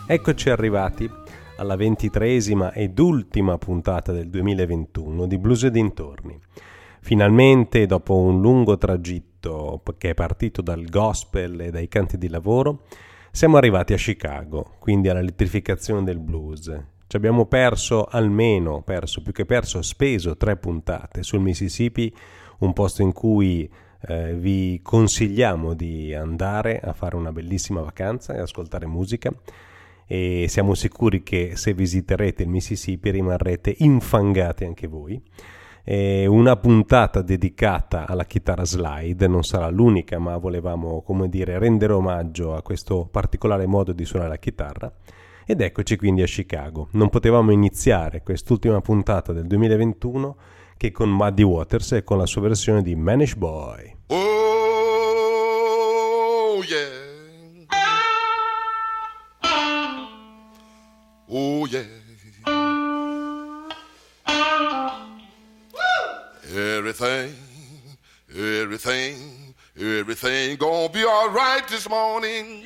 Eccoci arrivati alla 23esima ed ultima puntata del 2021 di Blues e dintorni. Finalmente, dopo un lungo tragitto che è partito dal gospel e dai canti di lavoro, siamo arrivati a Chicago, quindi all'elettrificazione del blues. Ci abbiamo speso 3 puntate sul Mississippi, un posto in cui vi consigliamo di andare a fare una bellissima vacanza e ascoltare musica. E siamo sicuri che se visiterete il Mississippi rimarrete infangati anche voi. Una puntata dedicata alla chitarra slide, non sarà l'unica, ma volevamo, rendere omaggio a questo particolare modo di suonare la chitarra. Ed eccoci quindi a Chicago. Non potevamo iniziare quest'ultima puntata del 2021 che con Muddy Waters e con la sua versione di Manish Boy. Oh yeah. Oh yeah. Everything gonna be all right this morning.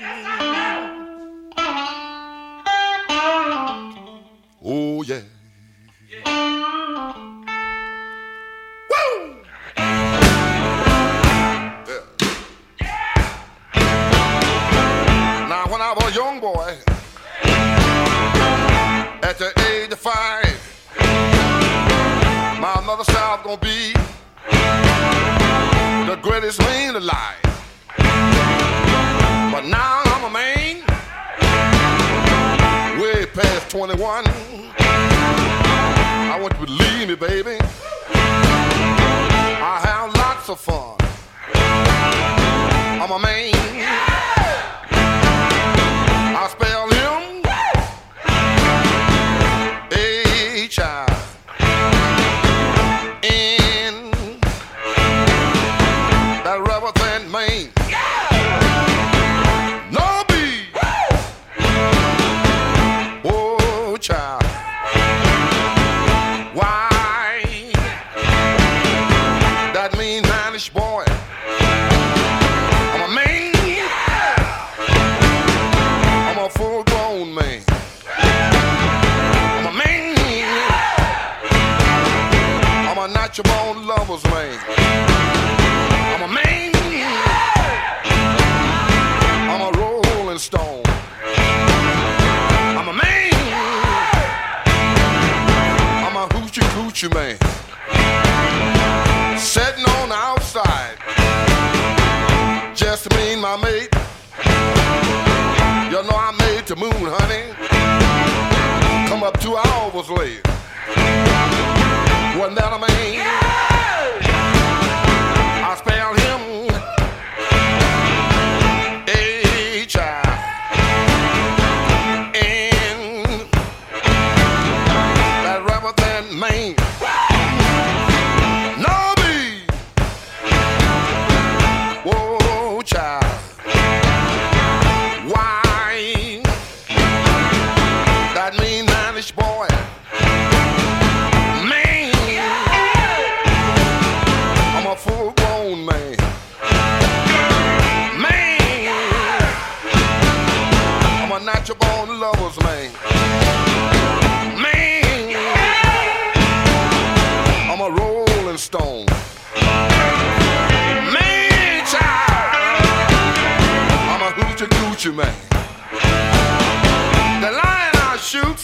Oh yeah. Woo! Now when I was a young boy, at the age of 5, my mother said I was gonna be the greatest man alive. But now I'm a man, way past 21. I want you to believe me, baby, I have lots of fun. I'm a man, I spell him H-I-N, that rubber band man. No B, oh child, why, that mean Manish boy. I'm a man, I'm a full grown man. I'm a man, I'm a natural born lover's man. I'm a man, I'm a rolling stone. I'm a man, I'm a hoochie coochie man. Sitting on the outside, just me and my mate. You know I made the moon, honey. Come up 2 hours late. Wasn't that a man? I spelled him H-I-N, that rubber band man. No B, whoa child, why, that mean Manish boy. Man, I'm a full grown man. Man, I'm a natural born lover's man. Man, I'm a rolling stone. Man, child, I'm a hoochie coochie man. The lion I shoot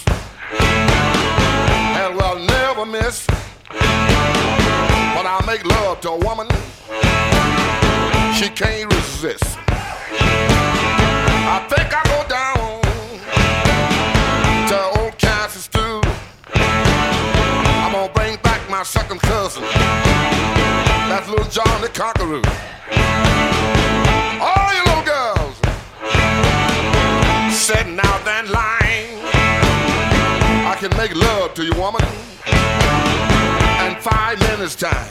and will never miss. When I make love to a woman, she can't resist. I think I go down to old Kansas stew. I'm gonna bring back my second cousin, that's little John the Conqueror. All you little girls sitting out that line, I can make love to you, woman, in 5 minutes time.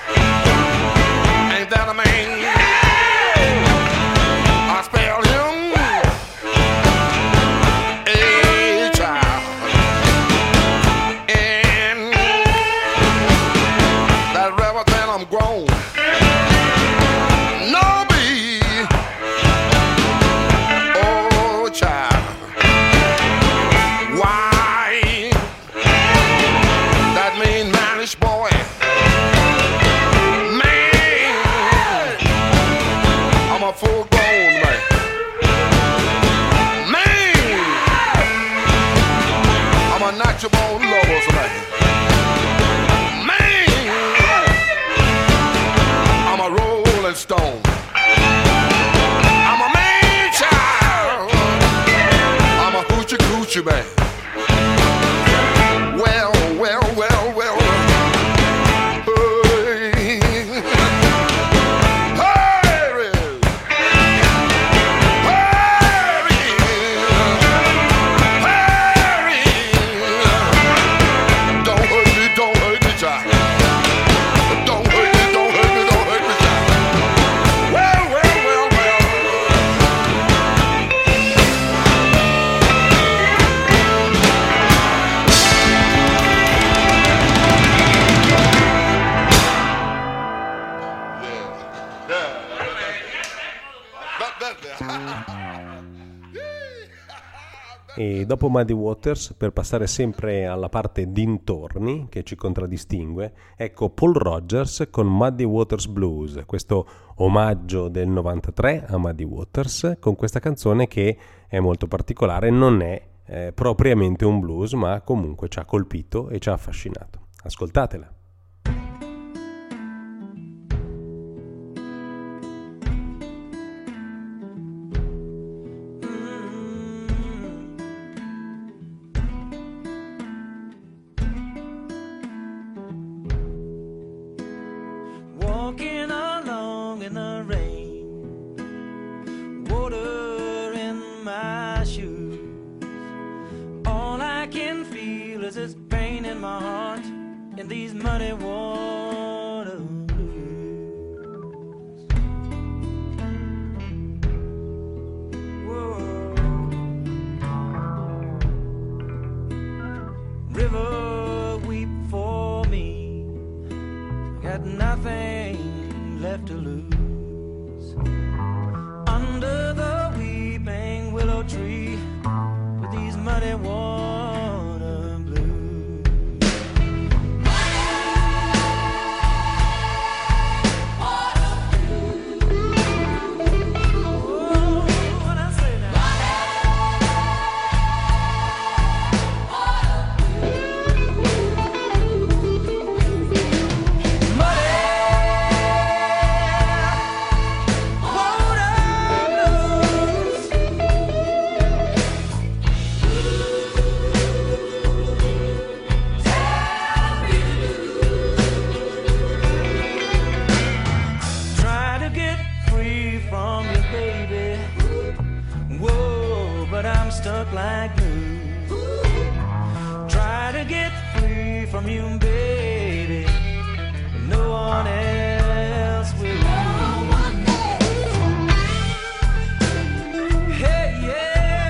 Ain't that a man? I spelled him H-I-N, that rubber band I'm grown. No B, oh child, country born lovers tonight. Man, I'm a rolling stone. I'm a man child. I'm a hoochie coochie man. Well, well, well, well. E dopo Muddy Waters, per passare sempre alla parte dintorni che ci contraddistingue, ecco Paul Rogers con Muddy Waters Blues, questo omaggio del 93 a Muddy Waters, con questa canzone che è molto particolare, non è propriamente un blues, ma comunque ci ha colpito e ci ha affascinato. Ascoltatela. These muddy water blues. Whoa. River, weep for me. Got nothing left to lose. Under the weeping willow tree with these muddy water. Stuck like glue. Try to get free from you, baby. No one else will. No one else. Hey, yeah.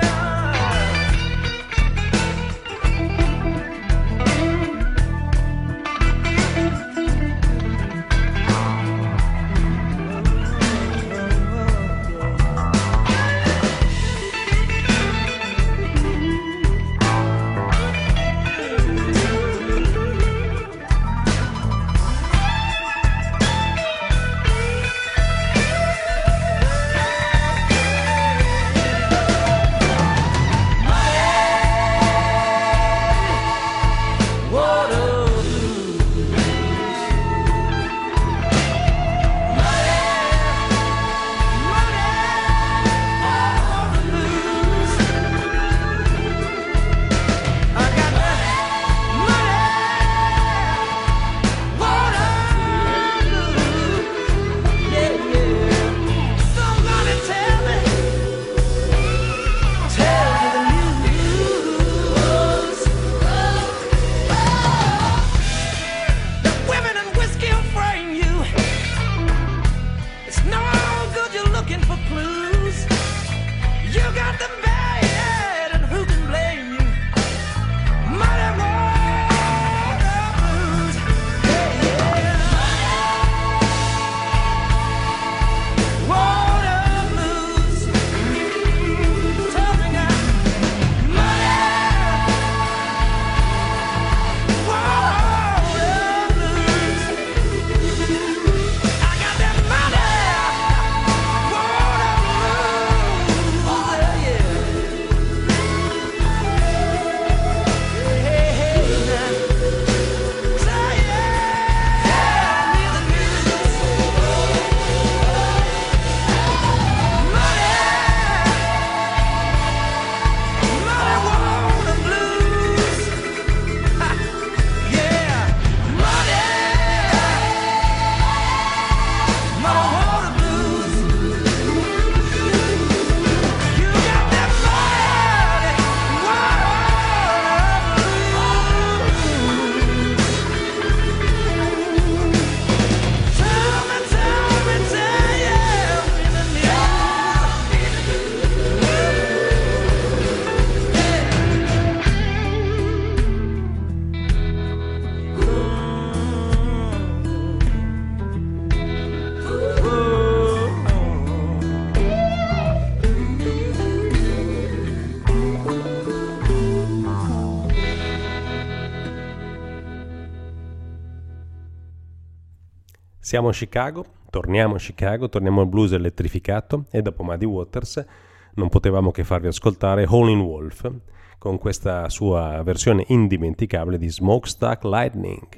Siamo a Chicago, torniamo al blues elettrificato e dopo Muddy Waters non potevamo che farvi ascoltare Howlin' Wolf con questa sua versione indimenticabile di Smokestack Lightning.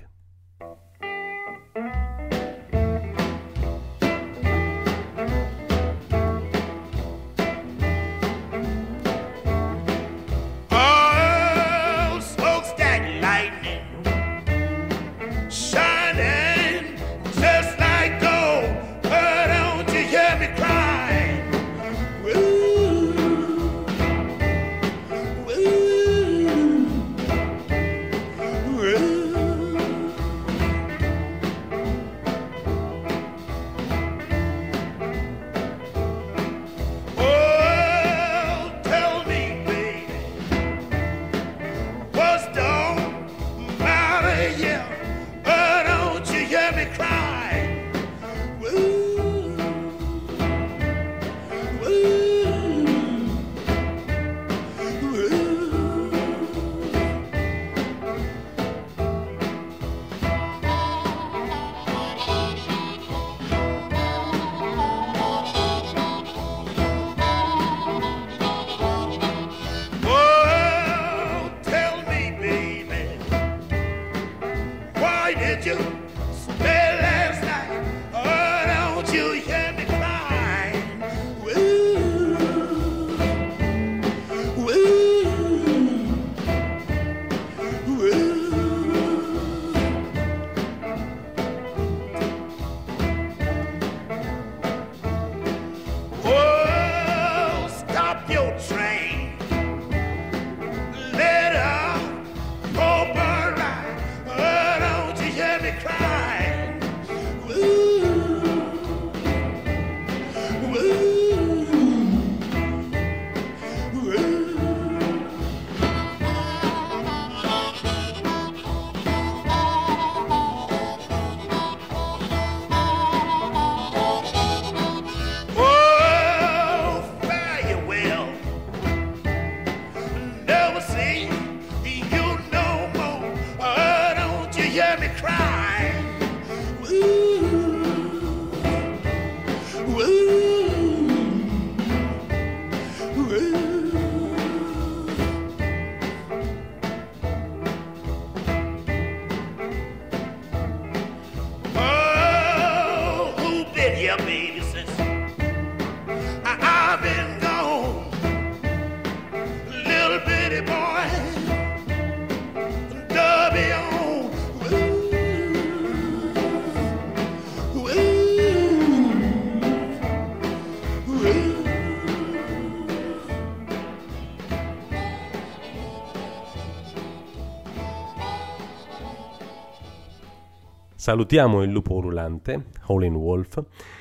Salutiamo il lupo ululante, Howlin' Wolf,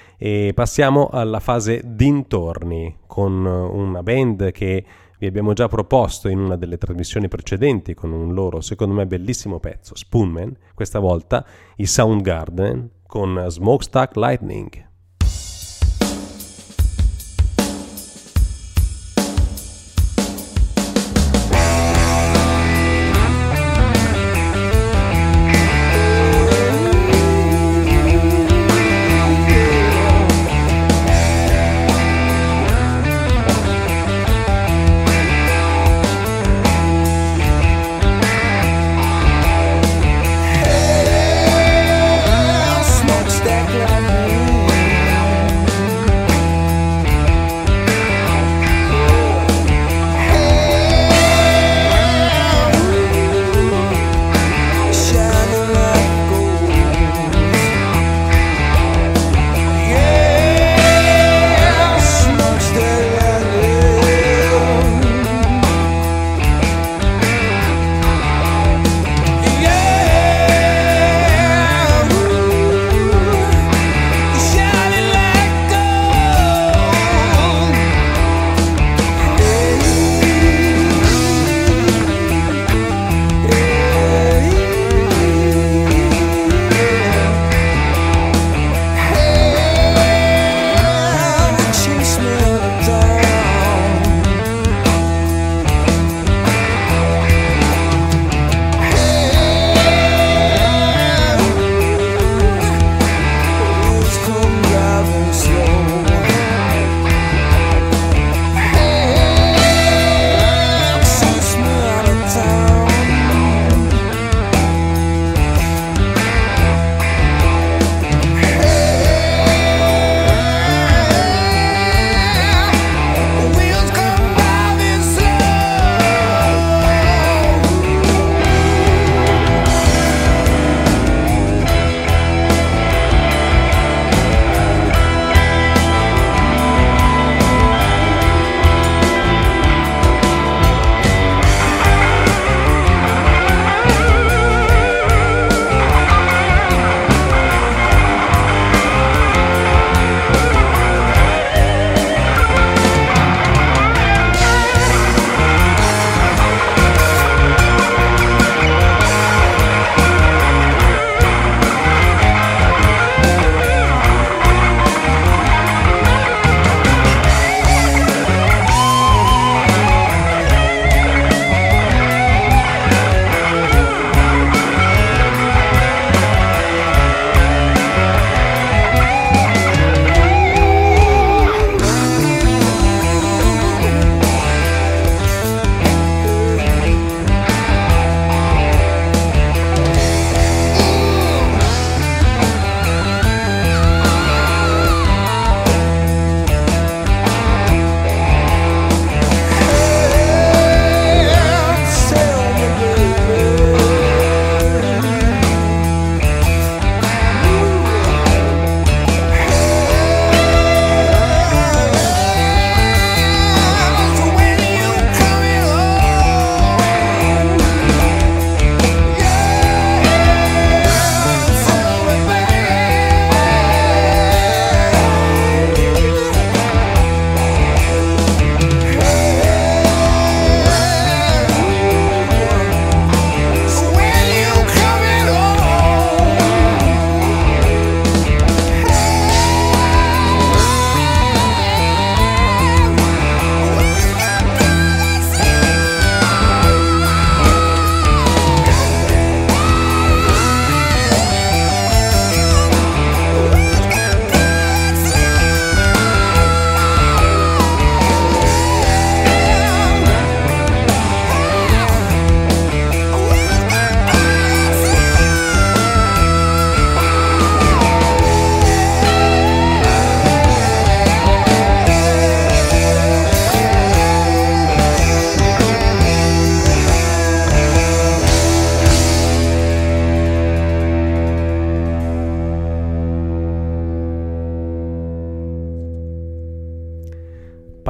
e passiamo alla fase dintorni con una band che vi abbiamo già proposto in una delle trasmissioni precedenti con un loro, secondo me, bellissimo pezzo, Spoonman, questa volta i Soundgarden con Smokestack Lightning. Smokestack lightning.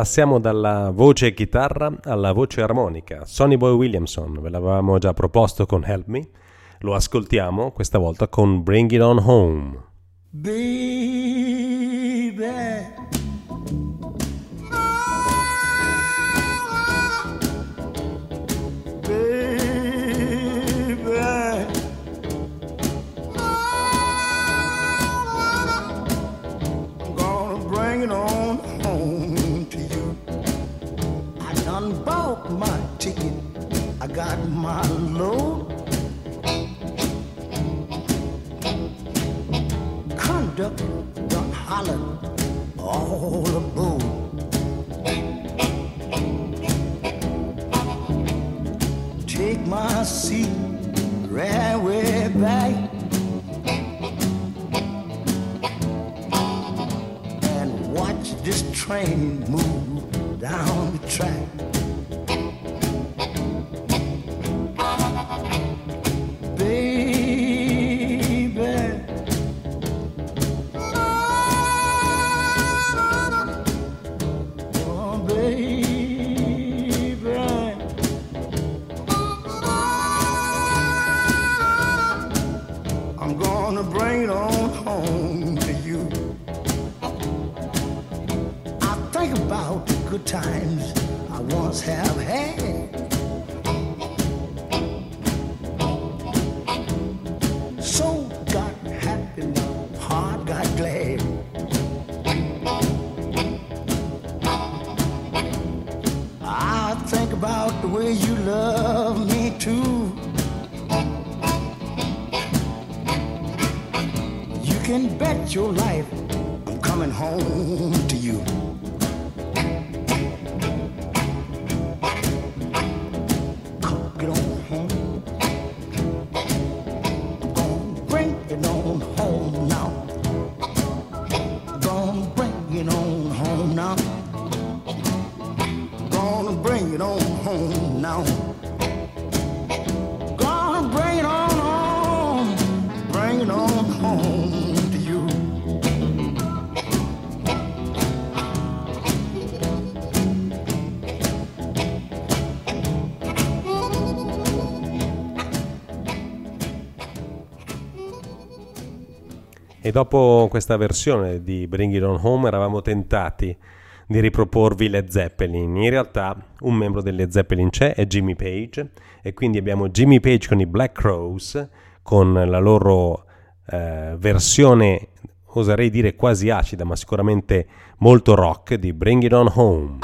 Passiamo dalla voce e chitarra alla voce armonica. Sonny Boy Williamson, ve l'avevamo già proposto con Help Me, lo ascoltiamo questa volta con Bring It On Home. Baby, I got my load. Conductor done hollered all aboard. Take my seat right way back and watch this train move down the track. Good times I once have had. Soul got happy, my heart got glad. I think about the way you love me too. You can bet your life I'm coming home to you. E dopo questa versione di Bring It On Home eravamo tentati di riproporvi Led Zeppelin. In realtà un membro dei Led Zeppelin c'è, è Jimmy Page, e quindi abbiamo Jimmy Page con i Black Crowes, con la loro versione, oserei dire quasi acida, ma sicuramente molto rock, di Bring It On Home.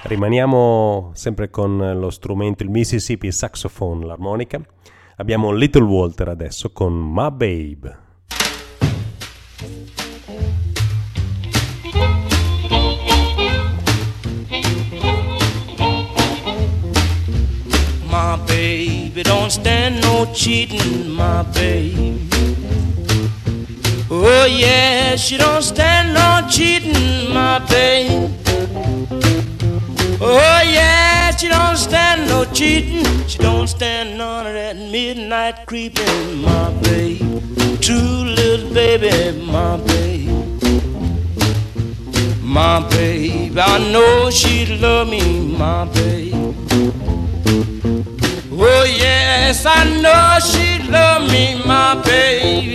Rimaniamo sempre con lo strumento, il Mississippi Saxophone, l'armonica. Abbiamo Little Walter adesso con My Babe. My baby don't stand no cheating, my baby. Oh yeah, she don't stand no cheating, my baby. Oh yeah, she don't stand no cheating. She don't stand none of that midnight creeping, my baby. True little baby, my baby. My baby, I know she'd love me, my baby. Oh yes, I know she'd love me, my baby.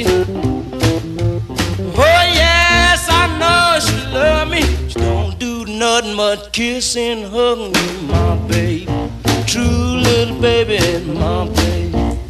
Oh yes, I know she'd love me. She don't do nothing but kiss and hug me, my baby. True little baby, my baby.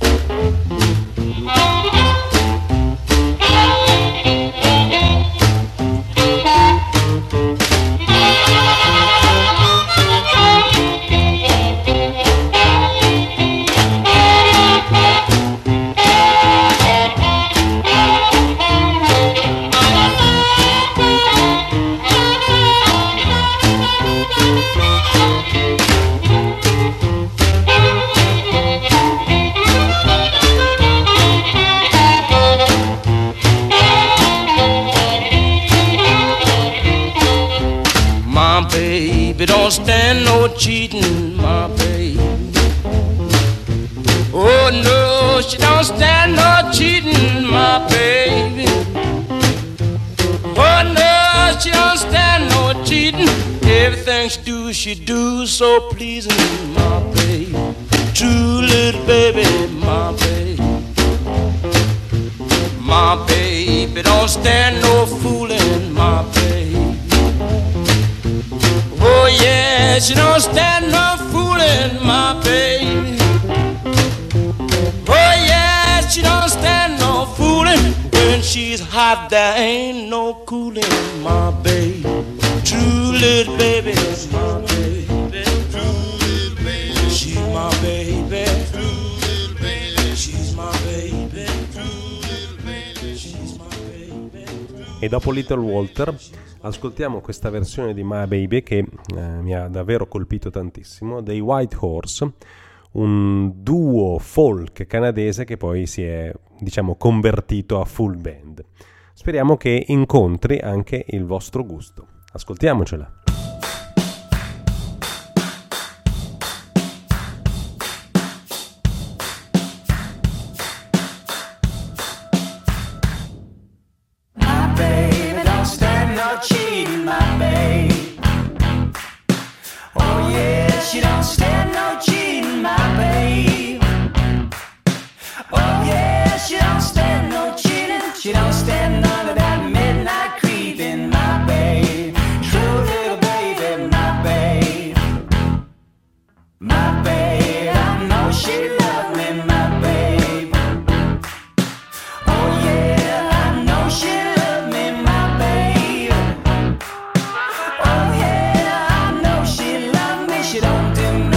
Baby, don't stand no cheating, my baby. Oh no, she don't stand no cheating, my baby. Oh no, she don't stand no cheating. Everything she do so pleasing, my baby. True little baby, my baby. My baby don't stand no fooling, my baby. Oh yeah, she don't stand no fooling, my baby. Oh yeah, she don't stand no fooling. When she's hot, there ain't no cooling, my baby. True little baby, my baby. True little baby, she's my baby. True little baby, she's my baby. True little baby, she's my baby. E dopo Little Walter ascoltiamo questa versione di My Baby che mi ha davvero colpito tantissimo, dei White Horse, un duo folk canadese che poi si è, diciamo, convertito a full band. Speriamo che incontri anche il vostro gusto. Ascoltiamocela. Cheating, my babe. Oh yeah, she don't stand no cheating, my babe. Oh yeah, she don't stand no cheating. She don't stand none of that midnight creeping, my babe. True little baby, my babe. My babe, I know she love me, my babe. Oh yeah, I know she love me, my babe. Oh yeah, I know she love me. She don't do nothing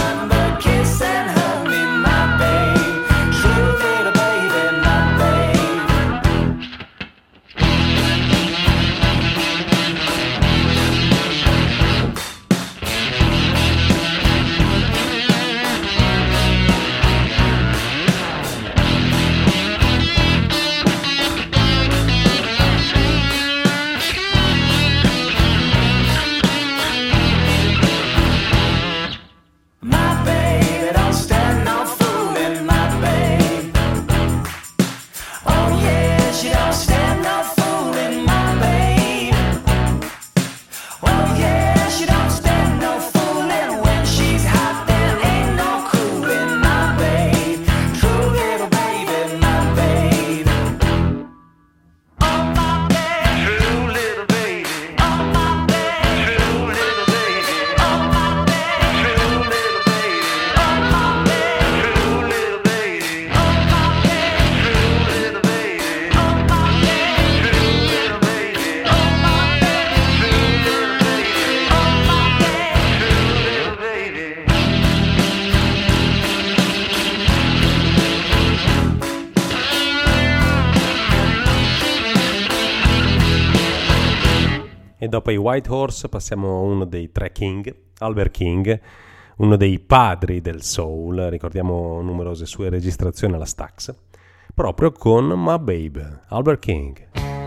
dopo i White Horse passiamo a uno dei tre King, Albert King, uno dei padri del soul. Ricordiamo numerose sue registrazioni alla Stax, proprio con My Baby, Albert King.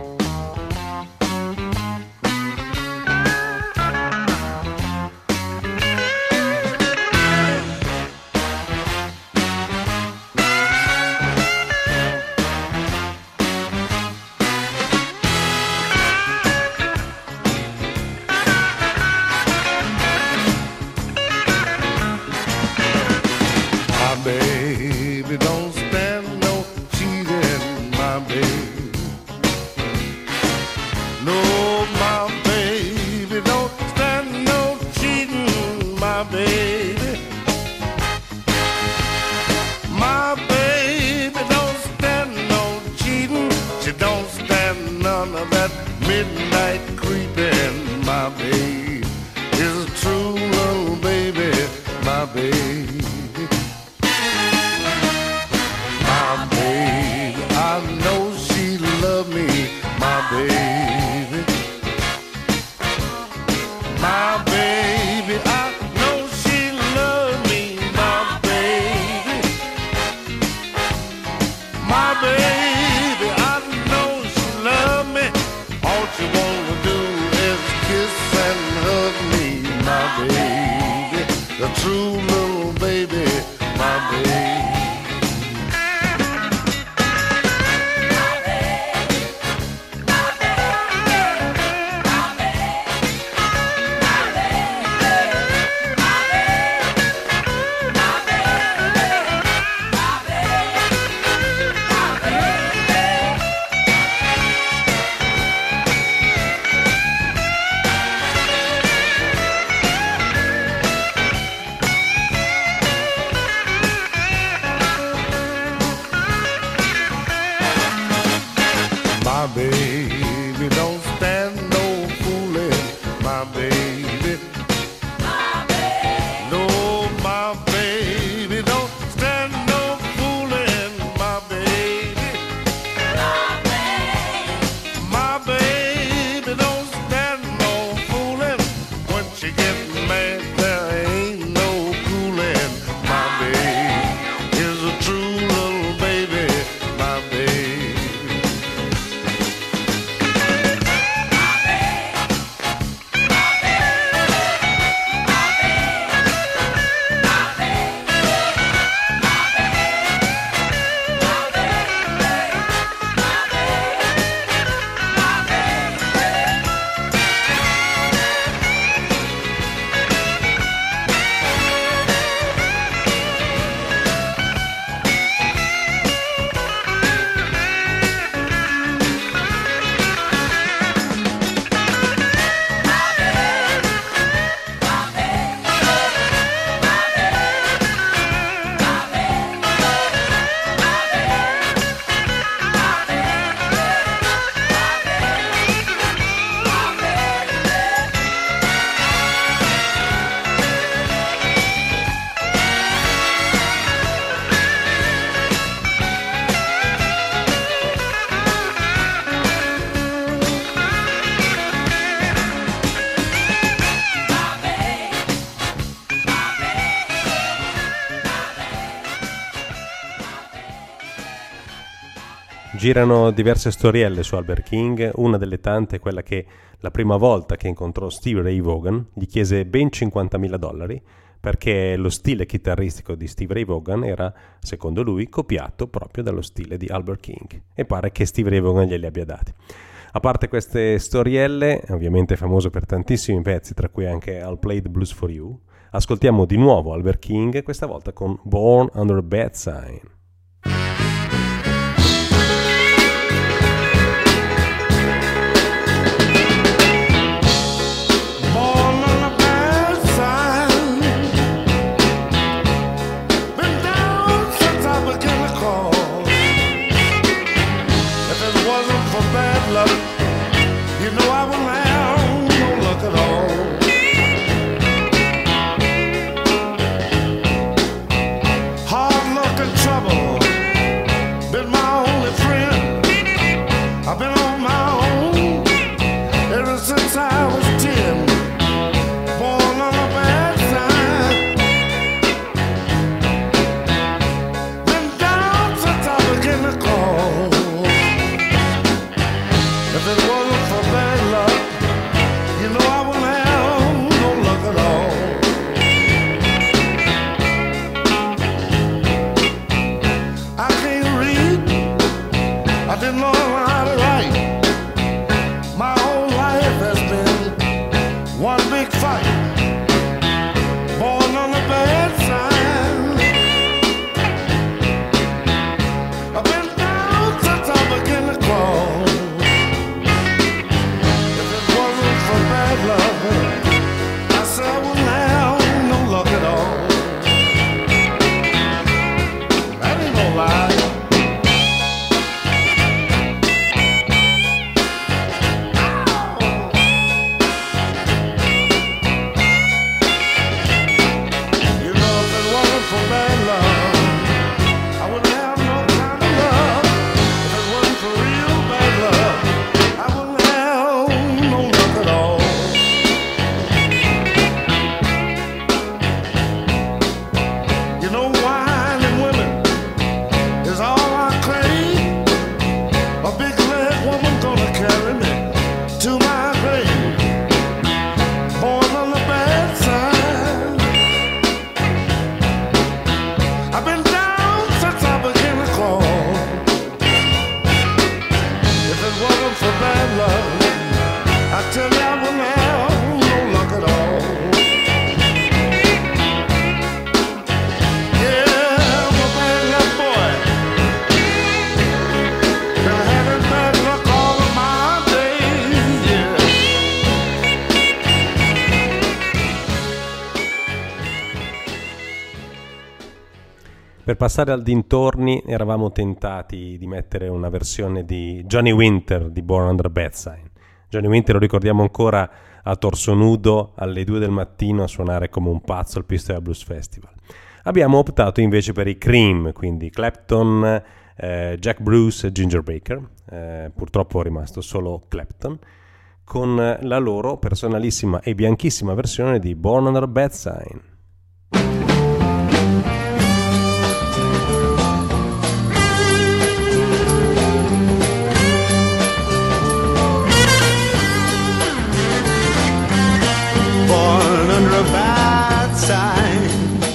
Baby, don't stand no cheating, my baby. No, my baby, don't stand no cheating, my baby. My baby don't stand no cheating. She don't stand none of that midnight creeping, my baby. Is a true little baby, my baby. I know she love me, my baby. My baby, I know she love me, my baby. My baby, I know she love me. All she wanna do is kiss and hug me, my baby. The true little baby, my baby. My baby don't stand no fooling, my baby. My baby. No, my baby don't stand no fooling, my baby. My baby. My baby don't stand no fooling. When she gets mad, there ain't no cooling. My baby is a true little baby, my baby. Girano diverse storielle su Albert King, una delle tante è quella che la prima volta che incontrò Stevie Ray Vaughan gli chiese ben $50.000 perché lo stile chitarristico di Stevie Ray Vaughan era, secondo lui, copiato proprio dallo stile di Albert King e pare che Stevie Ray Vaughan glieli abbia dati. A parte queste storielle, ovviamente famoso per tantissimi pezzi, tra cui anche I'll Play the Blues for You, ascoltiamo di nuovo Albert King, questa volta con Born Under a Bad Sign. Trouble Per passare al dintorni eravamo tentati di mettere una versione di Johnny Winter di Born Under a Bad Sign. Johnny Winter lo ricordiamo ancora a torso nudo alle 2 del mattino a suonare come un pazzo al Pistoia Blues Festival. Abbiamo optato invece per i Cream, quindi Clapton, Jack Bruce e Ginger Baker. Purtroppo è rimasto solo Clapton, con la loro personalissima e bianchissima versione di Born Under a Bad Sign. Born under a bad sign,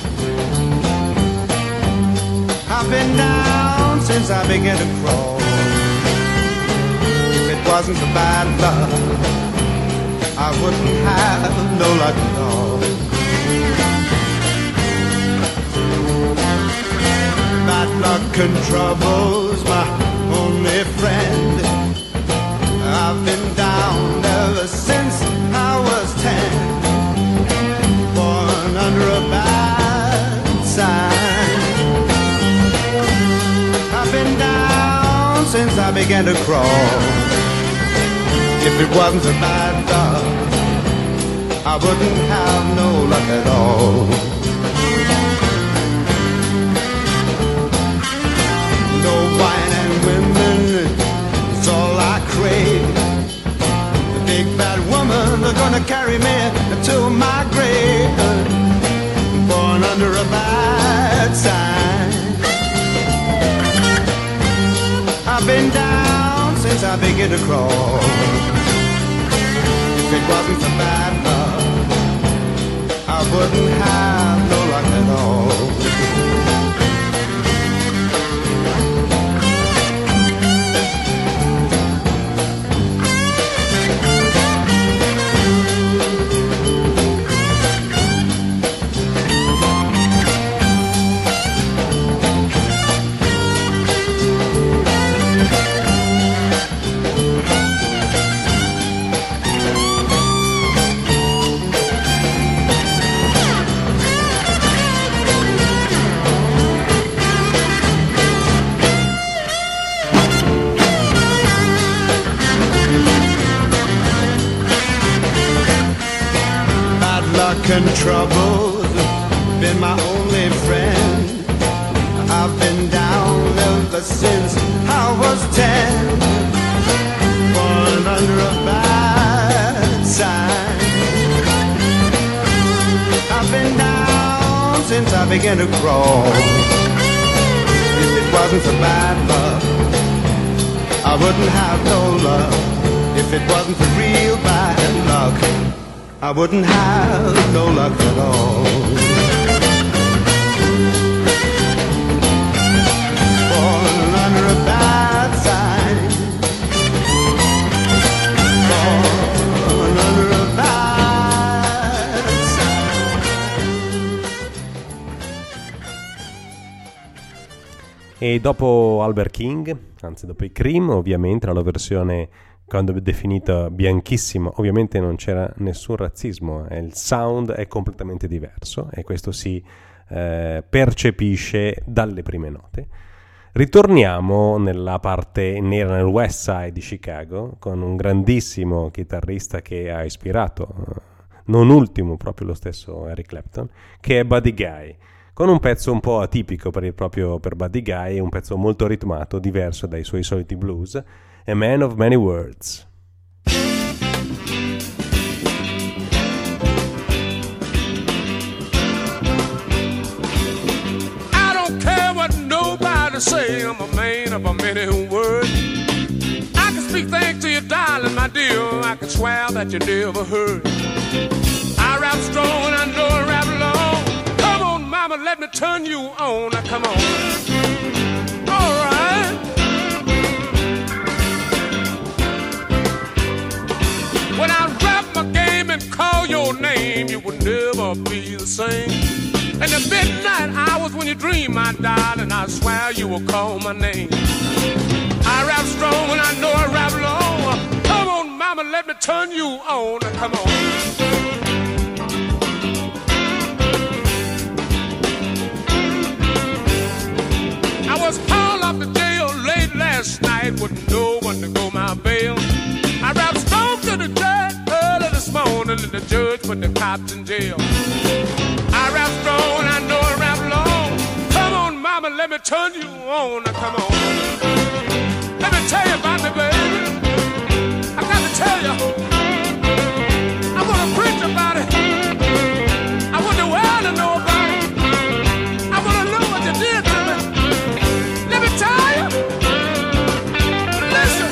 I've been down since I began to crawl. If it wasn't for bad luck, I wouldn't have no luck at all. Bad luck and trouble's my only friend. I've been down ever since I was 10. Born under a bad sign. I've been down since I began to crawl. If it wasn't for bad luck, I wouldn't have no luck at all. No wine and women, it's all I crave. The big bad woman are gonna carry me to my grave. Born under a bad sign. I've been down since I began to crawl. If it wasn't for bad luck, I wouldn't have no luck at all. And trouble's been my only friend. I've been down ever since I was 10. Born under a bad sign. I've been down since I began to crawl. If it wasn't for bad luck, I wouldn't have no luck. If it wasn't for real bad luck, I wouldn't have no luck at all. Born under a bad sign. Born under a bad sign. E dopo Albert King, anzi dopo i Cream, ovviamente la loro versione, quando è definita bianchissima, ovviamente non c'era nessun razzismo, il sound è completamente diverso e questo si percepisce dalle prime note. Ritorniamo nella parte nera, nel West Side di Chicago, con un grandissimo chitarrista che ha ispirato, non ultimo proprio lo stesso Eric Clapton, che è Buddy Guy, con un pezzo un po' atipico per Buddy Guy, un pezzo molto ritmato, diverso dai suoi soliti blues, A Man of Many Words. I don't care what nobody say, I'm a man of a many words. I can speak things to you, darling, my dear, I can swear that you never heard. I rap strong and I know I rap long. Come on, mama, let me turn you on. Now, come on. All right. When I rap my game and call your name, you would never be the same. In the midnight hours when you dream, my darling, I swear you will call my name. I rap strong and I know I rap long. Come on, mama, let me turn you on. Now, come on. night with no one to go my bail. I rap strong to the judge early this morning, and the judge put the cops in jail. I rap strong, I know I rap long. Come on, mama, let me turn you on. Now, come on. Let me tell you about me, baby. I got to tell you. I want to preach about it. I want the world to know about it. I want to know what you did to me. Let me tell you. Listen.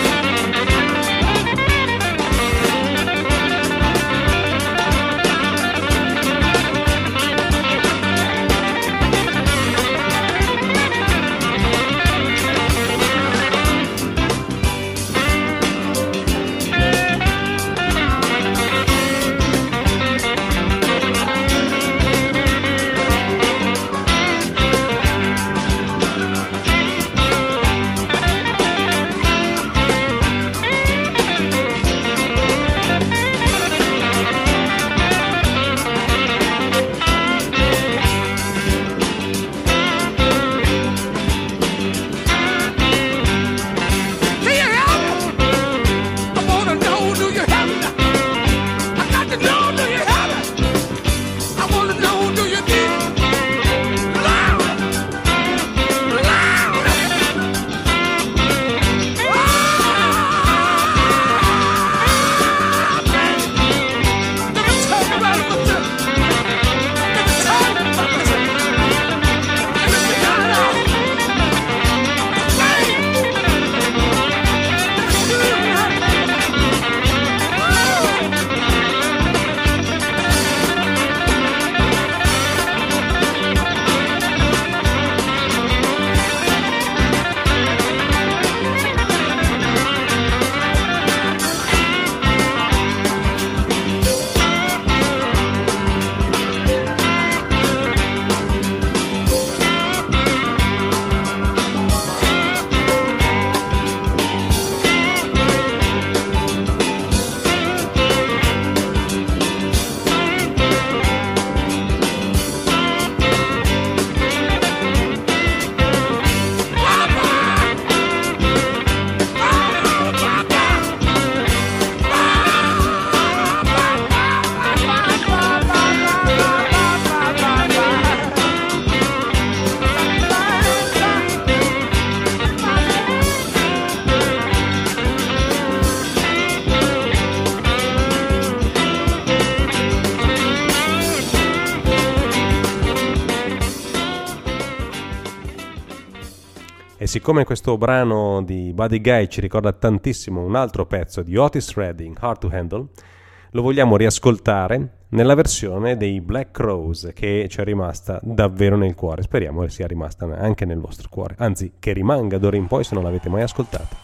E siccome questo brano di Buddy Guy ci ricorda tantissimo un altro pezzo di Otis Redding, Hard to Handle, lo vogliamo riascoltare nella versione dei Black Crowes, che ci è rimasta davvero nel cuore. Speriamo che sia rimasta anche nel vostro cuore, anzi che rimanga d'ora in poi se non l'avete mai ascoltata.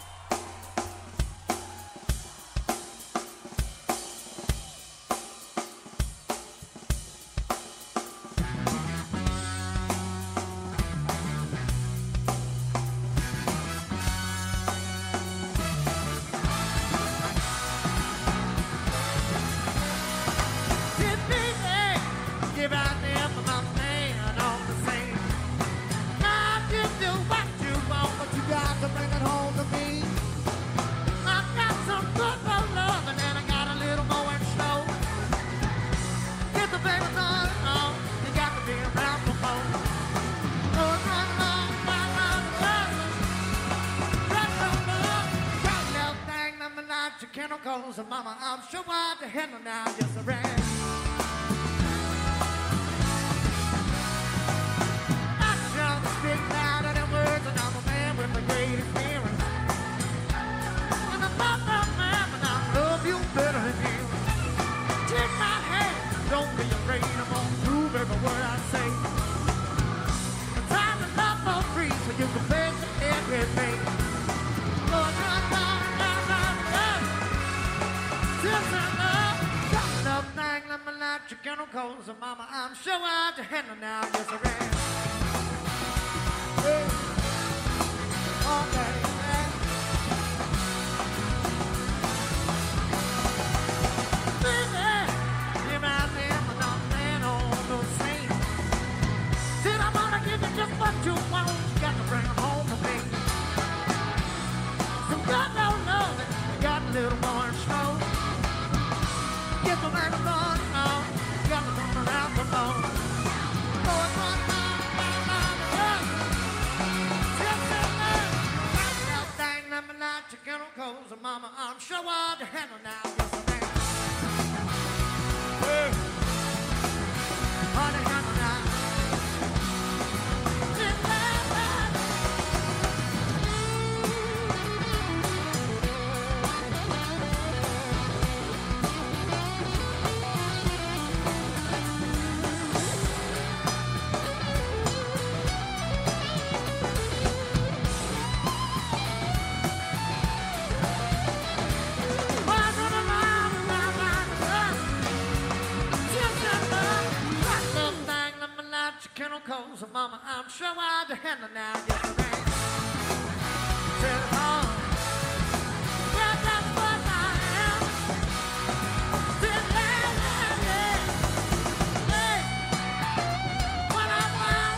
chemicals, mama, I'm sure I'd handle now. Get the rain. Telephone. Well, that's what I am. Still landing. Hey, what I found,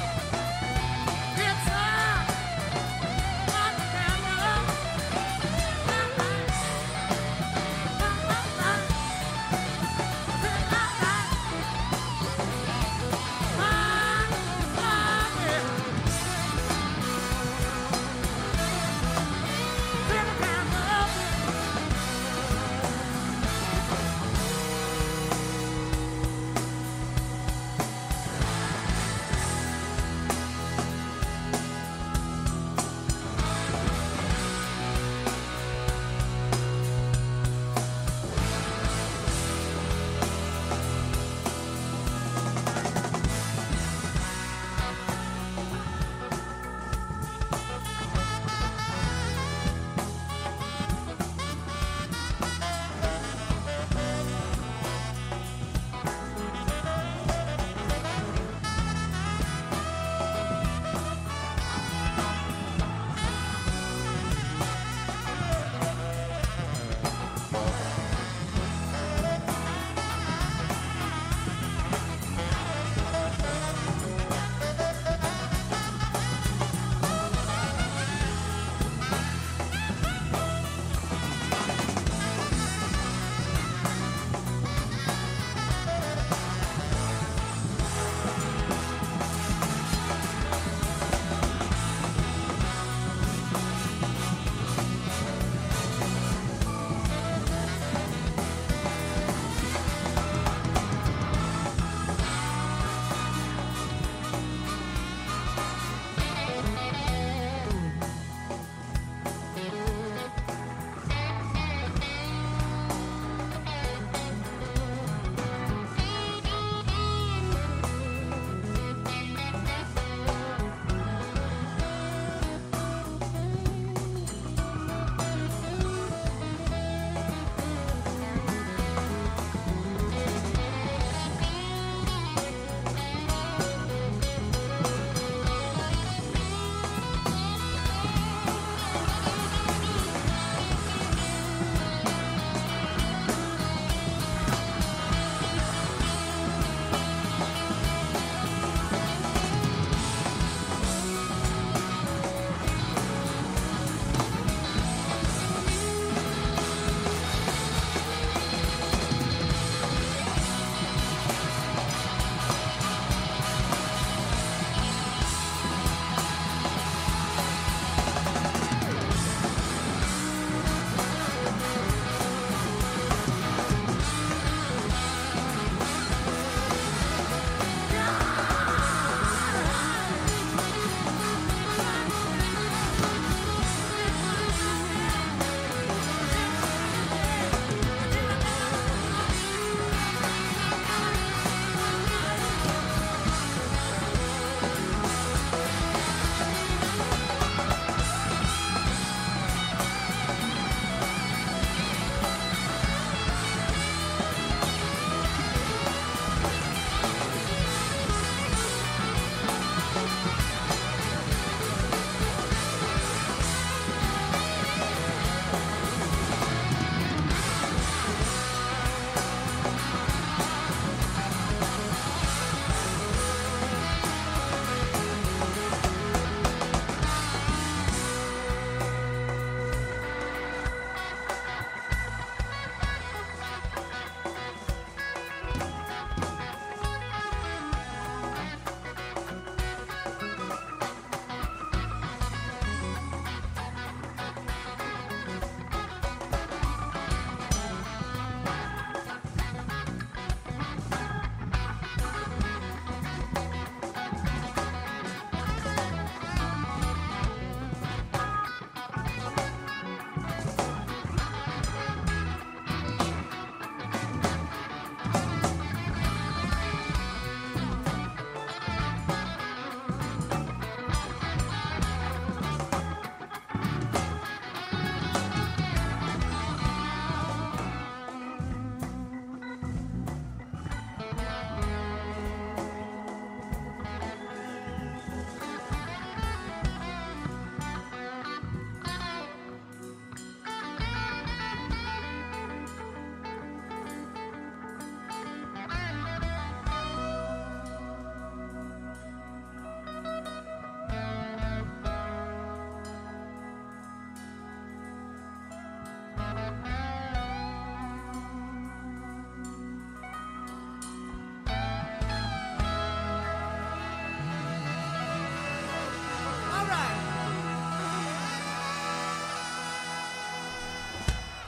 it's on the camera.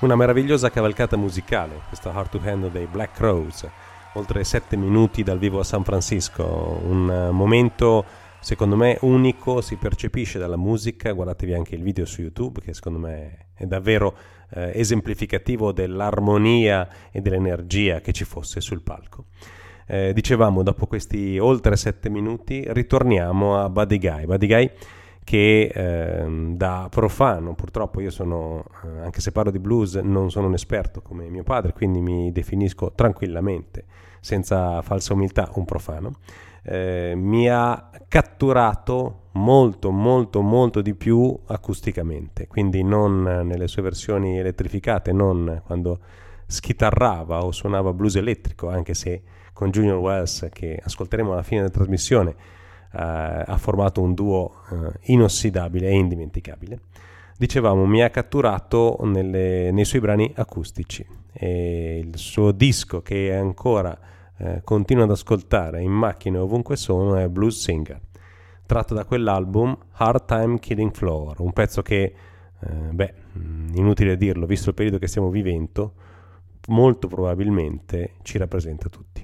Una meravigliosa cavalcata musicale, questo Hard to Handle dei Black Crowes, oltre 7 minuti dal vivo a San Francisco, un momento secondo me unico, si percepisce dalla musica. Guardatevi anche il video su YouTube, che secondo me è davvero esemplificativo dell'armonia e dell'energia che ci fosse sul palco. Dicevamo, dopo questi oltre 7 minuti ritorniamo a Buddy Guy che da profano, purtroppo io sono, anche se parlo di blues, non sono un esperto come mio padre, quindi mi definisco tranquillamente, senza falsa umiltà, un profano. Mi ha catturato molto di più acusticamente, quindi non nelle sue versioni elettrificate, non quando schitarrava o suonava blues elettrico, anche se con Junior Wells, che ascolteremo alla fine della trasmissione, ha formato un duo inossidabile e indimenticabile. Dicevamo, mi ha catturato nei suoi brani acustici, e il suo disco che ancora continuo ad ascoltare in macchina ovunque sono è Blues Singer, tratto da quell'album Hard Time Killing Floor, un pezzo che inutile dirlo, visto il periodo che stiamo vivendo, molto probabilmente ci rappresenta tutti.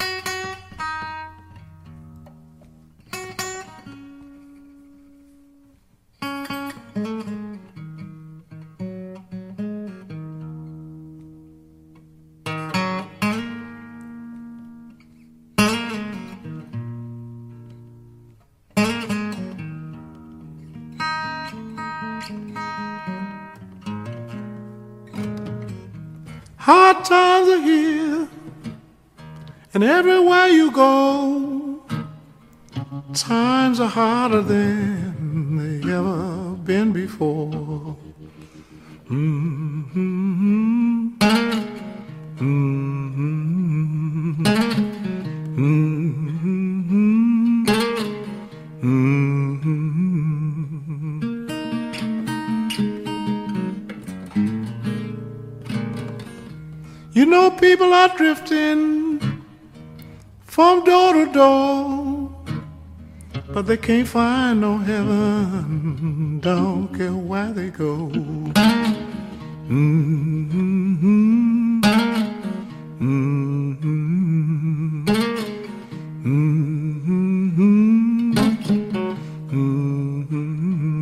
Hard times are here, and everywhere you go, times are harder than they ever been before. Mm-hmm. Mm-hmm. Mm-hmm. Mm-hmm. You know, people are drifting from door to door, but they can't find no heaven, don't care where they go. Mm-hmm. Mm-hmm. Mm-hmm. Mm-hmm.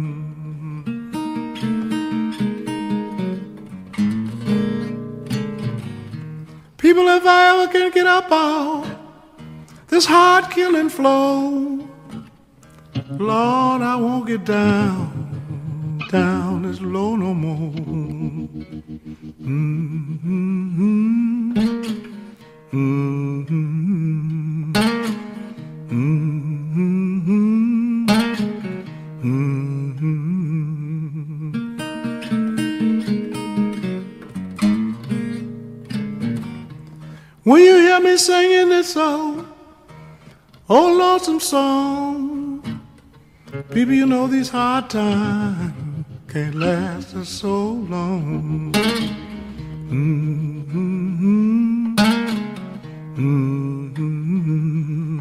People, if I ever can get up out this hard killing flow, Lord, I won't get down this low no more. Mm-hmm. Mm-hmm. Mm-hmm. Mm-hmm. When you hear me singing this old lonesome song, people, you know these hard times can't last us so long. Mm-hmm. Mm-hmm.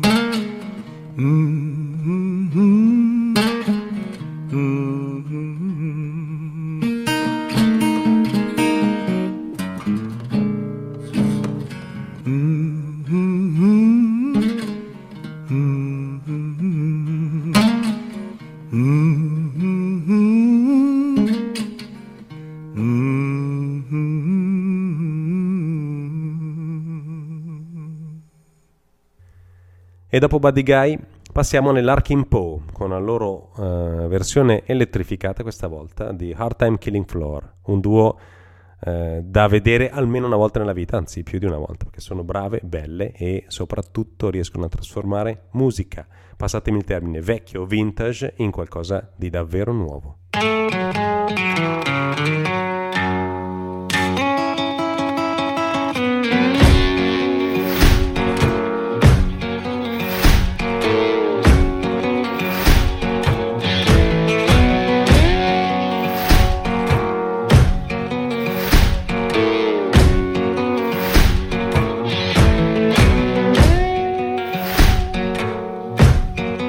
Mm-hmm. Mm-hmm. E dopo Buddy Guy passiamo nell'Arkin Poe con la loro versione elettrificata, questa volta, di Hard Time Killing Floor, un duo da vedere almeno una volta nella vita, anzi più di una volta, perché sono brave, belle e soprattutto riescono a trasformare musica, passatemi il termine, vecchio, vintage, in qualcosa di davvero nuovo.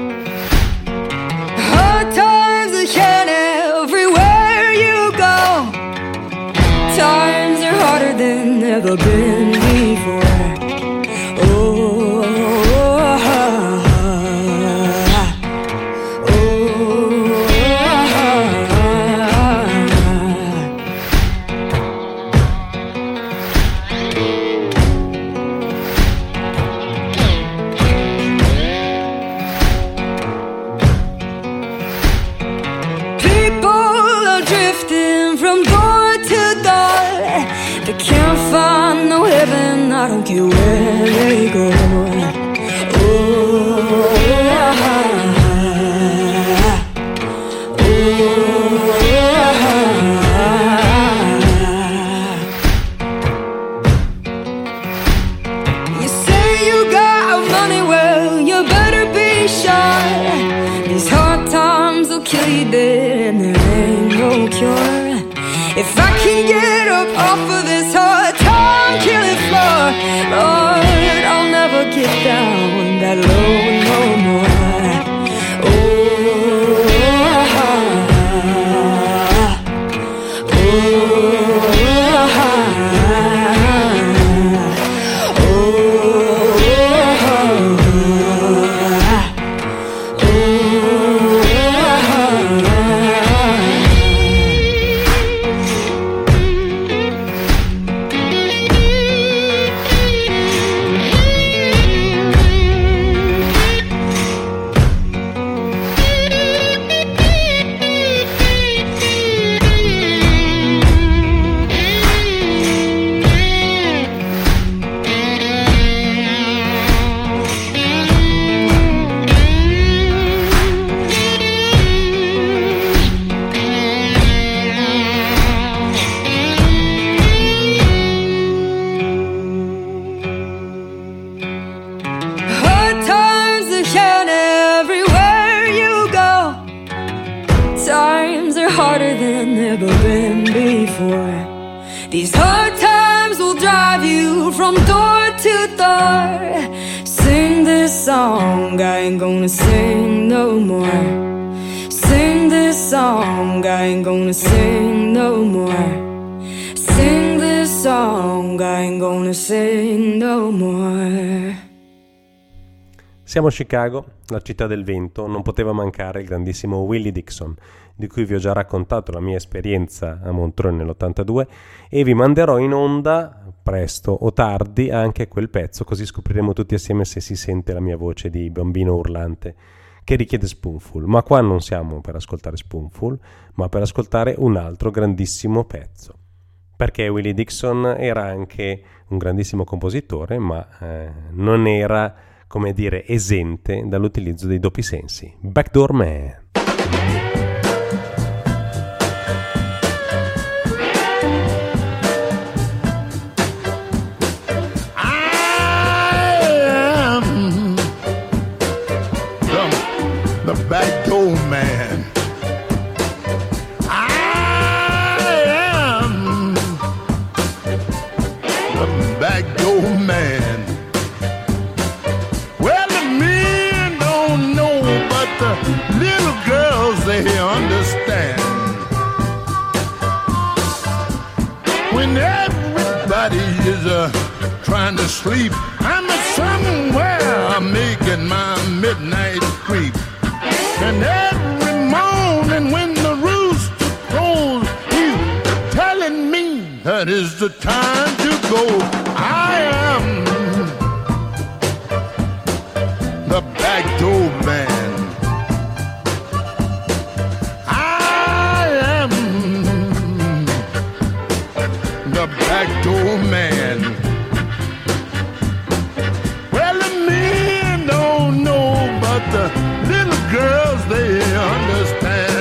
Hard times are shining everywhere you go. never been before. Oh, I don't care where they go. You say you got money, well, you better be sure. These hard times will kill you dead, and there ain't no cure. If I can get up off of this hard time killing floor, Lord, I'll never get down that low no more. Harder than ever been before. These hard times will drive you from door to door. Sing this song, I ain't gonna sing no more. Sing this song, I ain't gonna sing no more. Sing this song, I ain't gonna sing no more. Siamo a Chicago, la città del vento, non poteva mancare il grandissimo Willie Dixon, di cui vi ho già raccontato la mia esperienza a Montreux nell'82 e vi manderò in onda, presto o tardi, anche quel pezzo, così scopriremo tutti assieme se si sente la mia voce di bambino urlante che richiede Spoonful. Ma qua non siamo per ascoltare Spoonful, ma per ascoltare un altro grandissimo pezzo. Perché Willie Dixon era anche un grandissimo compositore, ma non era, come dire, esente dall'utilizzo dei doppi sensi. Backdoor Man. The backdoor man. I am the backdoor man. Well, the men don't know, but the little girls, they understand. When everybody is trying to sleep, I'm somewhere making my midnight creep. And every morning when the rooster crows, he's telling me that is the time to go. I am the backdoor man. I am the backdoor man. Well, the men don't know, but the little girls, they understand.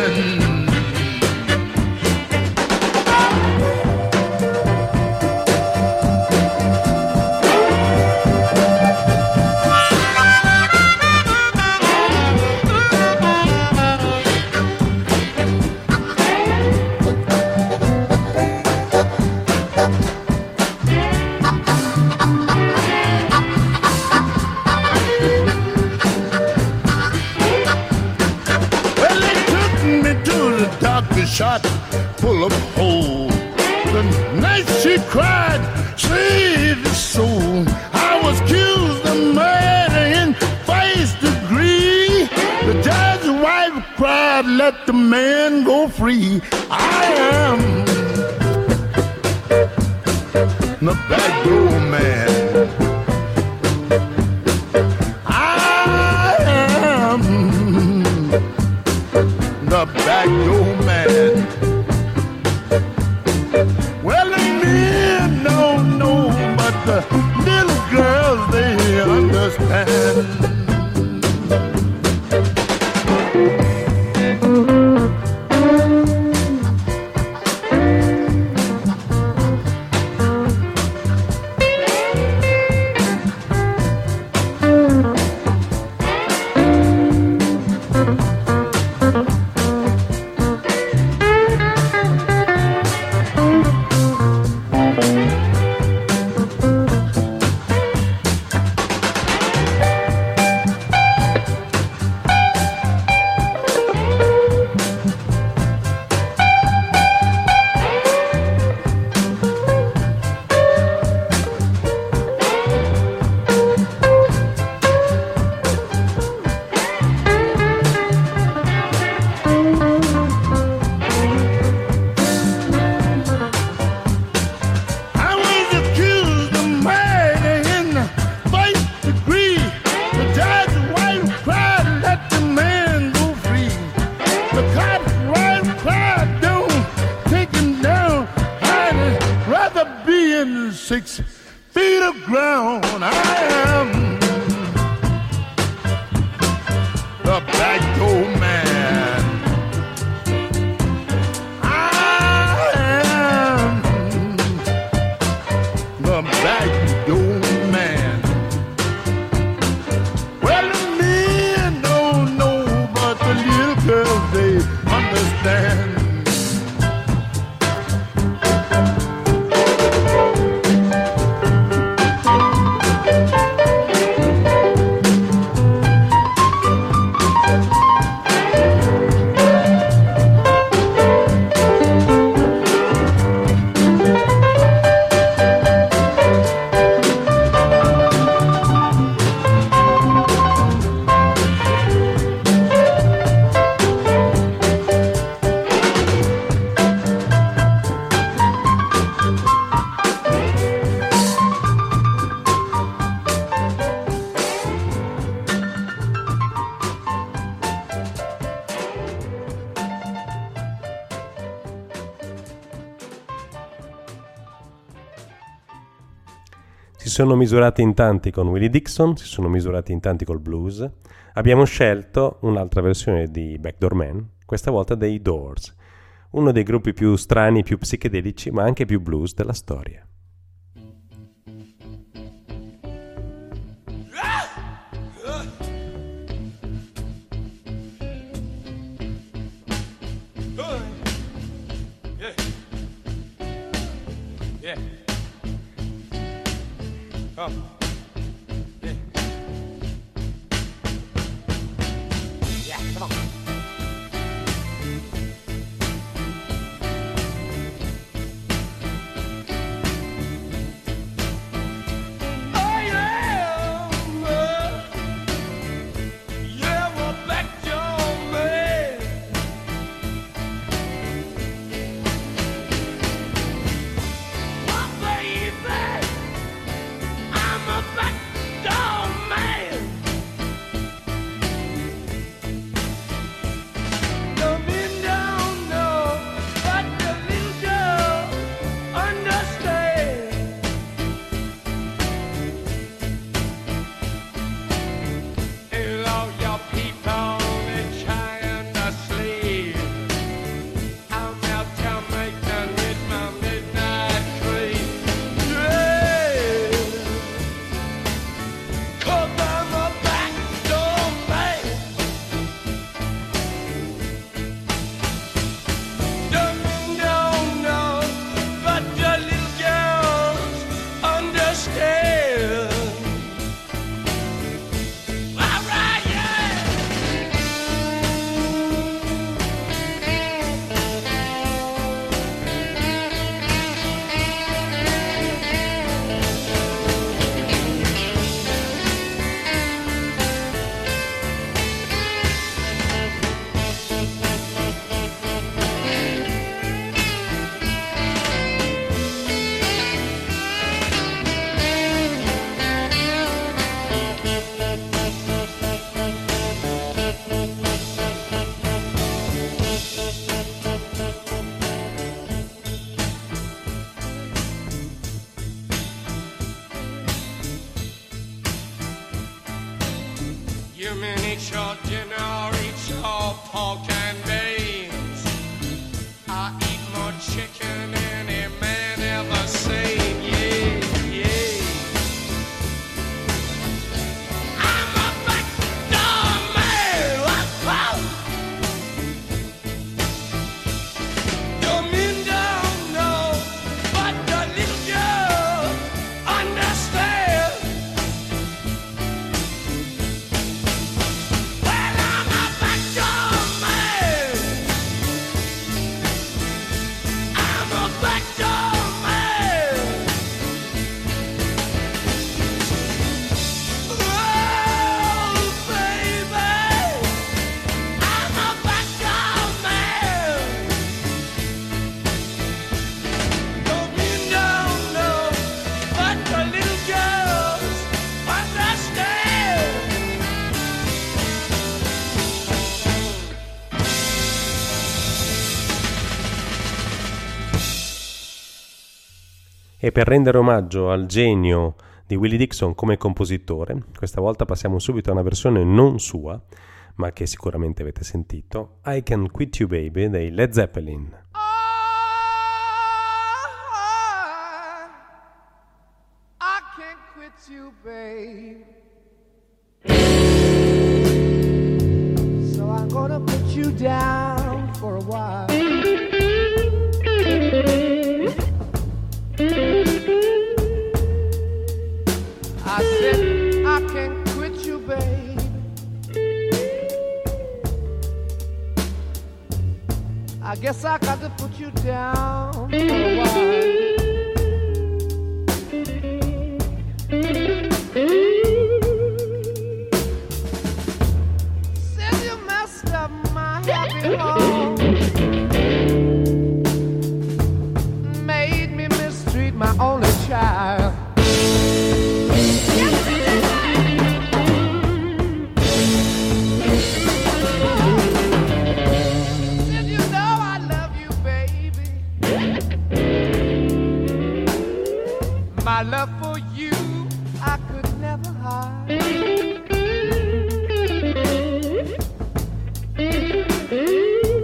Shot full of holes. The night she cried, "Save The judge's wife cried, let the man go free. I am the back door man. I am the back door man. Well, the men don't know, but the little girls, they understand. Si sono misurati in tanti con Willie Dixon, si sono misurati in tanti col blues. Abbiamo scelto un'altra versione di Backdoor Man, questa volta dei Doors, uno dei gruppi più strani, più psichedelici, ma anche più blues della storia. I'm a miniature dinner, each all pork and beans. I eat more chicken than any man ever seen. Yeah, yeah. I'm a backdoor man. Wow. The men don't know, but the little girl understand. Well, I'm a backdoor man. I'm a backdoor man. Oh, baby, I'm a backdoor man. The men don't know, but the little girls understand. E per rendere omaggio al genio di Willie Dixon come compositore, questa volta passiamo subito a una versione non sua, ma che sicuramente avete sentito, I Can Quit You Baby dei Led Zeppelin. I can't quit you, babe. So I'm gonna put you down for a while. I said I can't quit you, babe. I guess I got to put you down for a while. Said you messed up my happy home, made me mistreat my only child. Said you know I love you, baby. My love for you I could never hide.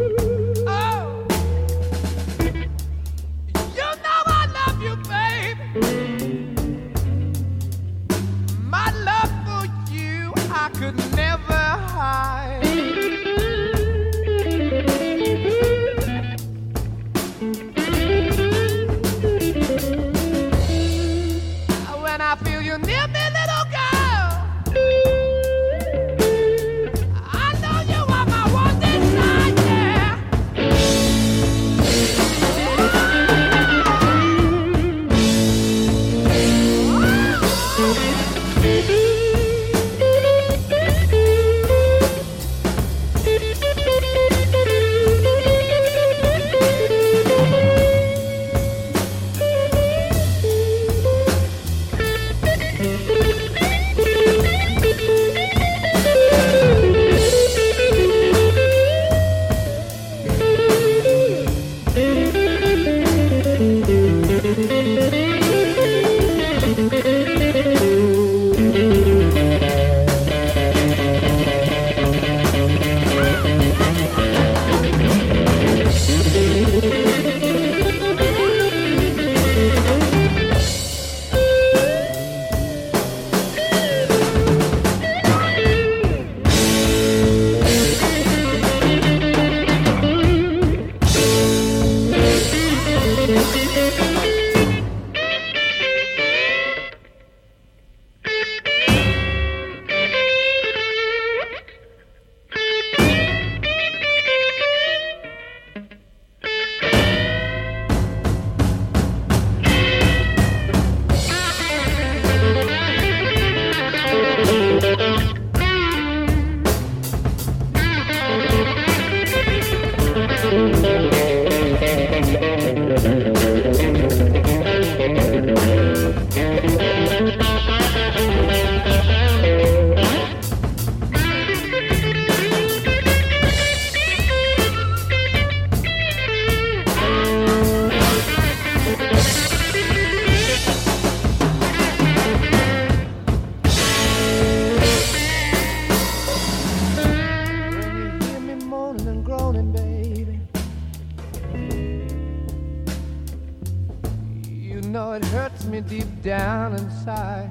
me deep down inside.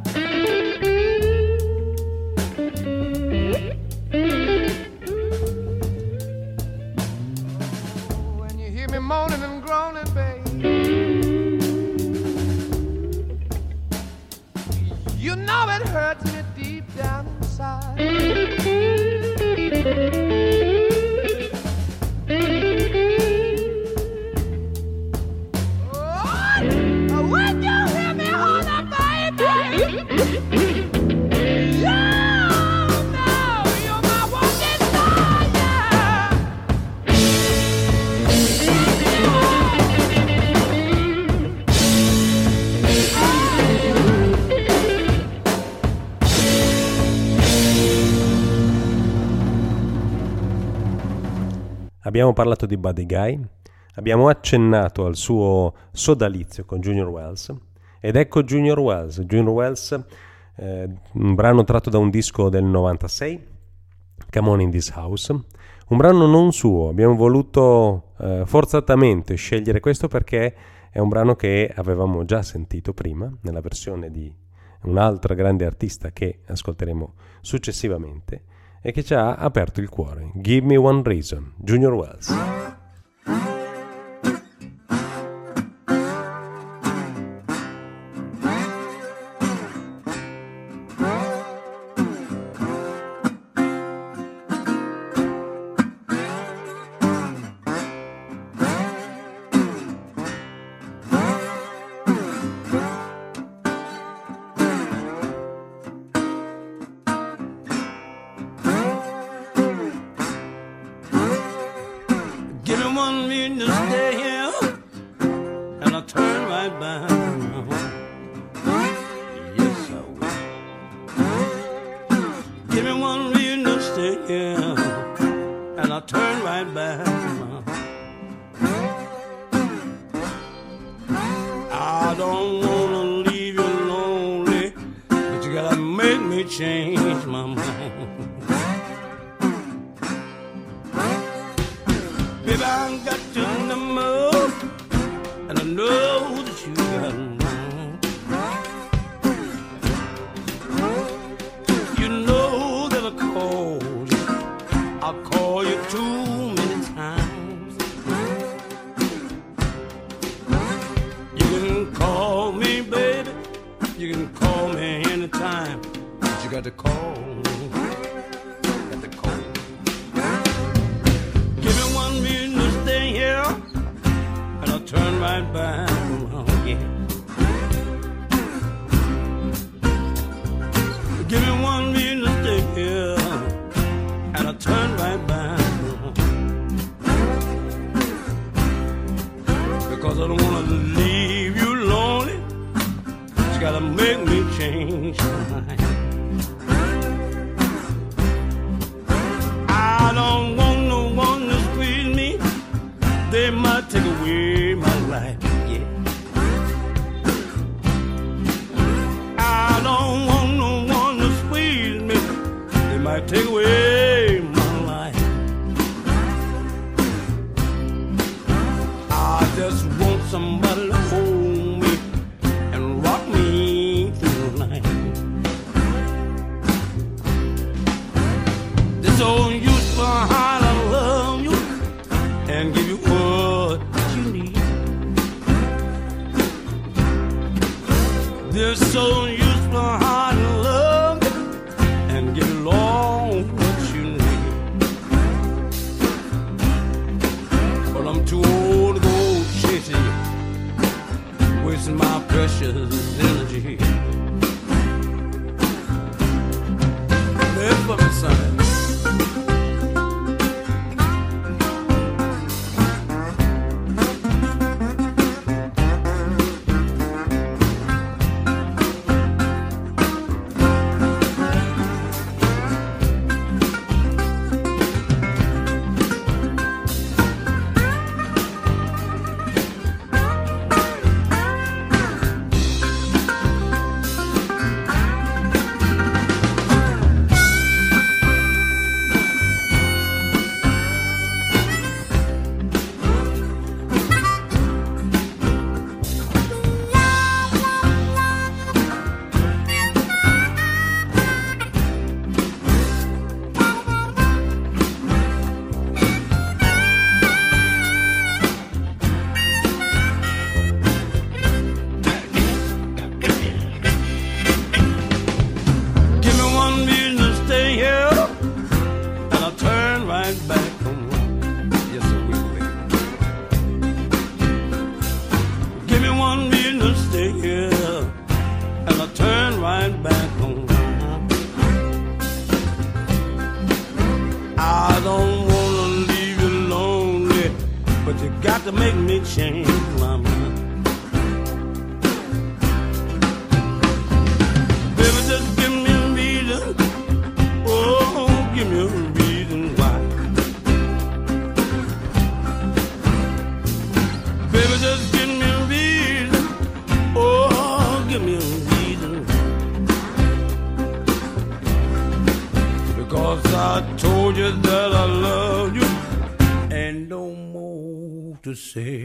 When you hear me moaning and groaning, babe, you know it hurts me deep down inside. When you hear me holler, baby, you know you're my one desire. Abbiamo parlato di Buddy Guy, abbiamo accennato al suo sodalizio con Junior Wells, ed ecco Junior Wells, un brano tratto da un disco del 96, Come On In This House, un brano non suo. Abbiamo voluto forzatamente scegliere questo perché è un brano che avevamo già sentito prima nella versione di un'altra grande artista che ascolteremo successivamente e che ci ha aperto il cuore. Give Me One Reason, Junior Wells. right back home. Yes, I will, baby. Give me one reason to stay here, and I'll turn right back home. I don't wanna leave you lonely, but you got to make me change my mind. Baby, just give me a reason. Oh, give me a reason why. Baby, just give me a reason. Oh, give me a reason. Because I told you that I love you, and no more to say.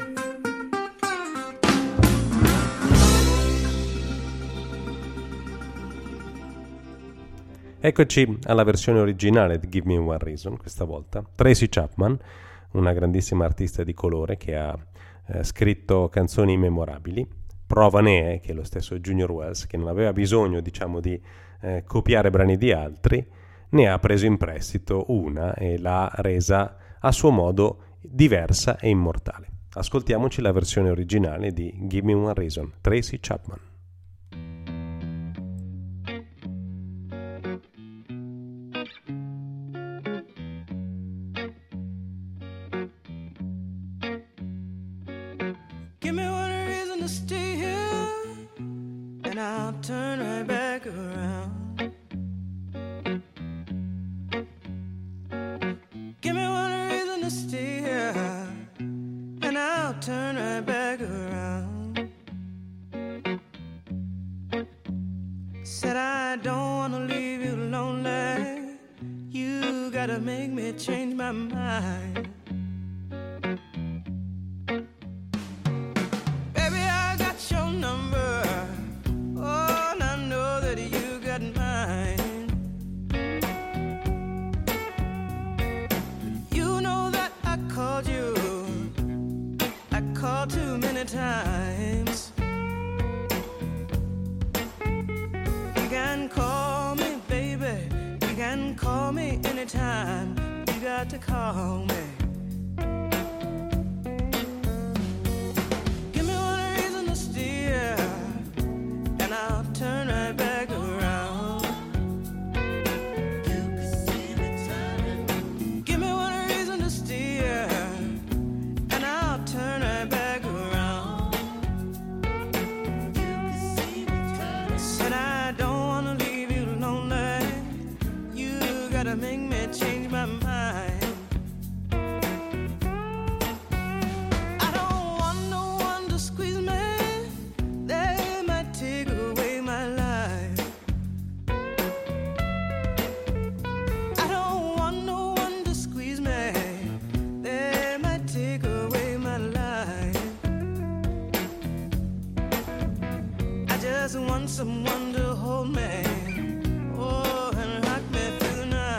Eccoci alla versione originale di Give Me One Reason, questa volta. Tracy Chapman, una grandissima artista di colore che ha scritto canzoni memorabili. Prova ne è che lo stesso Junior Wells, che non aveva bisogno, diciamo, di copiare brani di altri, ne ha preso in prestito una e l'ha resa a suo modo diversa e immortale. Ascoltiamoci la versione originale di Give Me One Reason, Tracy Chapman. Give me one reason to stay here, and I'll turn right back around. Give me one reason to stay here, and I'll turn right back around. Said I don't wanna leave you lonely, you gotta make me change my mind. Times you can call me, baby. You can call me anytime. You got to call me. Give me one reason to stay here, and I'll turn right back around. You can see me turning. Give me one reason to stay here, and I'll turn right back. Make me change my mind. I don't want no one to squeeze me, they might take away my life. I don't want no one to squeeze me, they might take away my life. I just want someone to hold me, oh, and rock me through the night.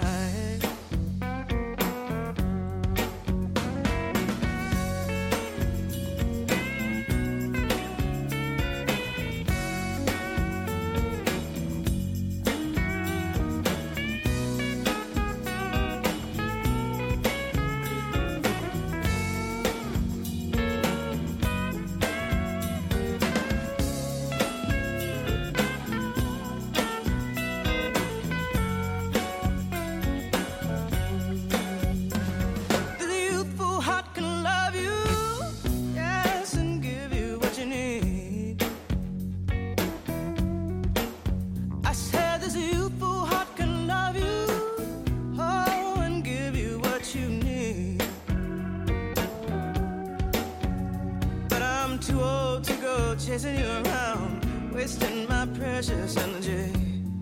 Chasing you around, wasting my precious energy.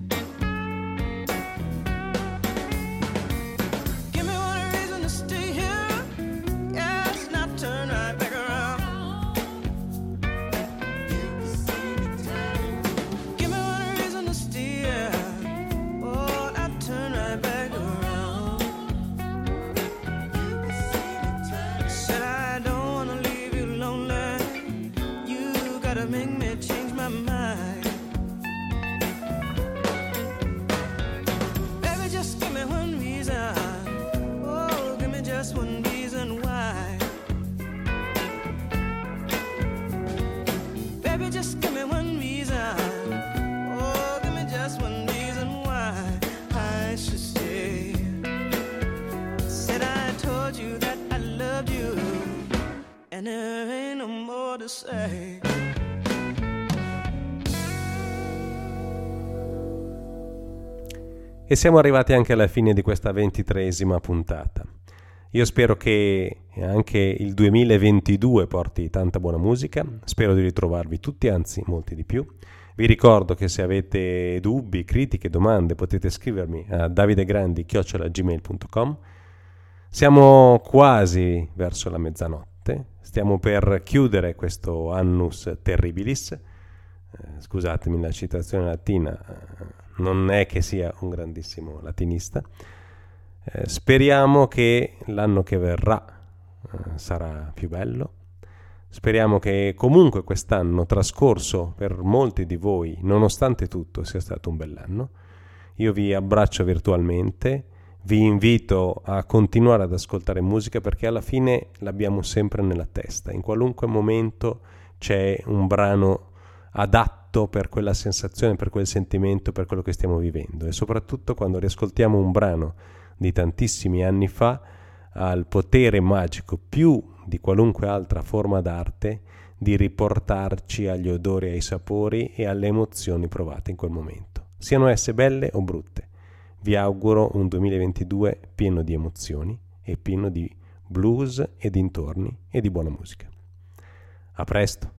Give me one reason to stay here, yes, not turn right back around. Give me one reason to stay here, oh, not turn right back around. Said I don't wanna leave you lonely, gotta make me change my mind. say. E siamo arrivati anche alla fine di questa 23esima puntata. Io spero che anche il 2022 porti tanta buona musica, spero di ritrovarvi tutti, anzi molti di più. Vi ricordo che se avete dubbi, critiche, domande potete scrivermi a davidegrandi@gmail.com. Siamo quasi verso la mezzanotte, stiamo per chiudere questo annus terribilis. Scusatemi la citazione latina, non è che sia un grandissimo latinista. Speriamo che l'anno che verrà sarà più bello. Speriamo che comunque quest'anno trascorso per molti di voi, nonostante tutto, sia stato un bell'anno. Io vi abbraccio virtualmente, vi invito a continuare ad ascoltare musica perché alla fine l'abbiamo sempre nella testa. In qualunque momento c'è un brano adatto per quella sensazione, per quel sentimento, per quello che stiamo vivendo, e soprattutto quando riascoltiamo un brano di tantissimi anni fa ha il potere magico, più di qualunque altra forma d'arte, di riportarci agli odori, ai sapori e alle emozioni provate in quel momento, siano esse belle o brutte. Vi auguro un 2022 pieno di emozioni e pieno di blues e dintorni e di buona musica. A presto!